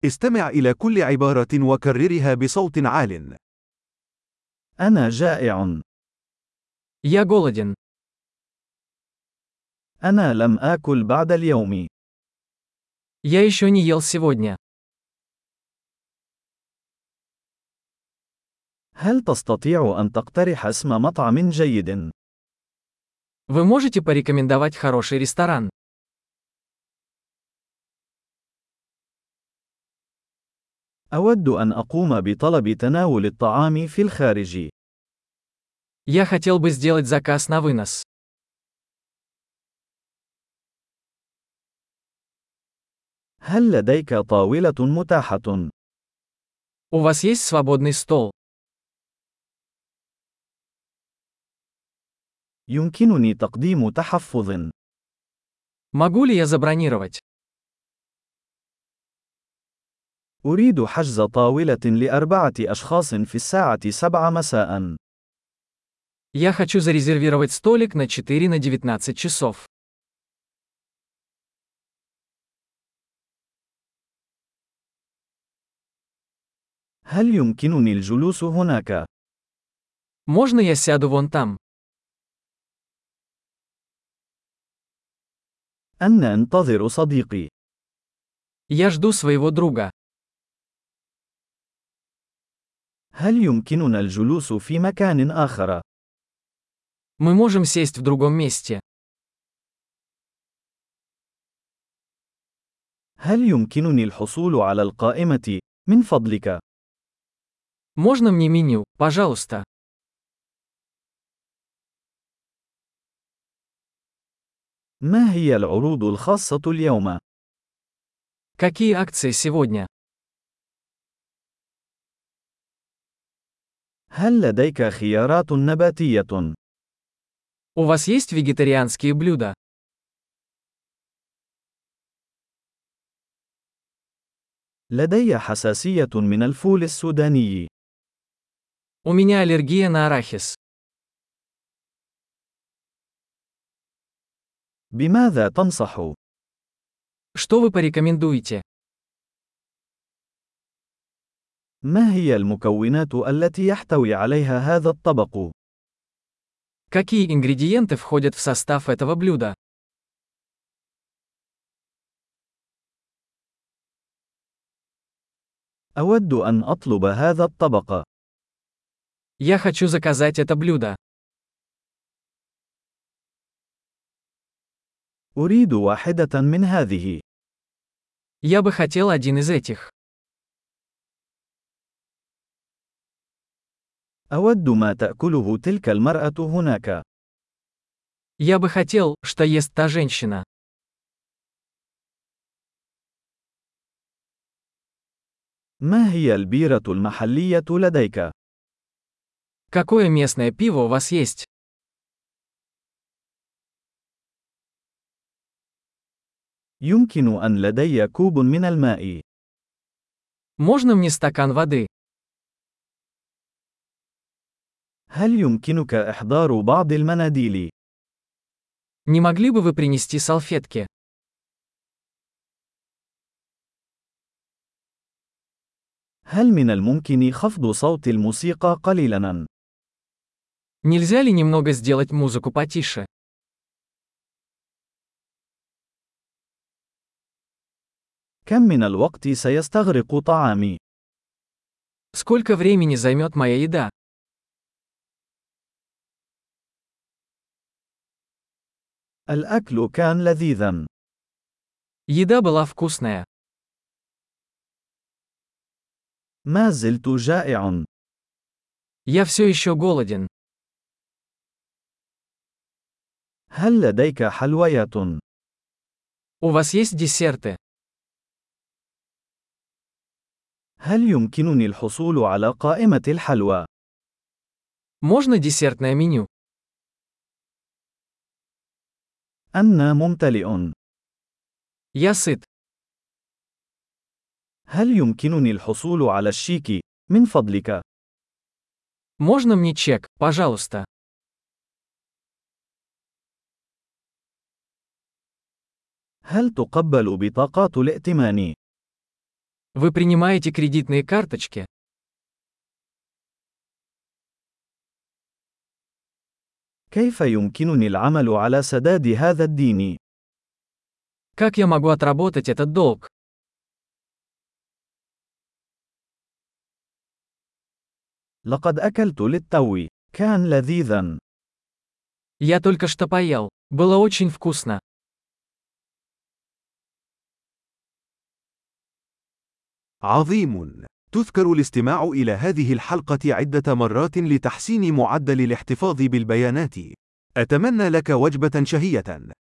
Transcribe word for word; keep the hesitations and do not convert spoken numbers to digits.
استمع إلى كل عبارة وكررها بصوت عال. أنا جائع. Я голоден. أنا لم آكل بعد اليوم. Я еще не ел сегодня. هل تستطيع أن تقترح اسم مطعم جيد؟ Вы можете порекомендовать хороший ресторан? أود أن أقوم بطلب تناول الطعام في الخارج. Я хотел бы сделать заказ на вынос. هل لديك طاولة متاحة؟ У вас есть свободный стол? يمكنني تقديم تحفظ. Могу ли я забронировать? أريد حجز طاولة لأربعة أشخاص في الساعة سبعة مساء. Я хочу зарезервировать столик на четыре на девятнадцать часов. هل يمكنني الجلوس هناك؟ Можно я сяду вон там? أنا أنتظر صديقي. Я жду своего друга. هل يمكننا الجلوس في مكان آخر؟ Мы можем сесть в другом месте. هل يمكنني الحصول على القائمة، من فضلك؟ Можно мне меню, пожалуйста? ما هي العروض الخاصة اليوم؟ Какие акции сегодня? هل لديك خيارات نباتية؟ У вас есть вегетарианские блюда? لدي حساسية من الفول السوداني. У меня аллергия на арахис. بماذا تنصح؟ Что вы порекомендуете? ما هي المكونات التي يحتوي عليها هذا الطبق؟ Какие ингредиенты входят в состав этого блюда? أود أن أطلب هذا الطبق. Я хочу заказать это блюдо. أريد واحدة من هذه. Я бы хотел один из этих. أود ما تأكله تلك المرأة هناك. Я бы хотел, что ест та женщина. ما هي البيرة المحلية لديك؟ Какое местное пиво у вас есть? يمكن أن لدي كوب من الماء. Можно мне стакан воды? هل يمكنك إحضار بعض المناديل؟ Не могли бы вы принести салфетки? هل من الممكن خفض صوت الموسيقى قليلاً؟ Нельзя ли немного сделать музыку потише? كم من الوقت سيستغرق طعامي؟ Сколько времени займет моя еда? الأكل كان لذيذاً. Еда была вкусная. ما زلت جائع. Я все еще голоден. هل لديك حلويات؟ У вас есть десерты? هل يمكنني الحصول على قائمة الحلوى؟ Можно десертное меню? أنا ممتلئ. Я сыт. هل يمكنني الحصول على الشيك، من فضلك؟ Можно мне чек, пожалуйста? هل تقبل بطاقات الائتمان؟ Вы принимаете кредитные карточки? كيف يمكنني العمل على سداد هذا الدين؟ Как я могу отработать этот долг? لقد أكلت للتو. كان لذيذا. Я только что поел. Было очень вкусно. عظيم. تذكر الاستماع إلى هذه الحلقة عدة مرات لتحسين معدل الاحتفاظ بالبيانات. أتمنى لك وجبة شهية.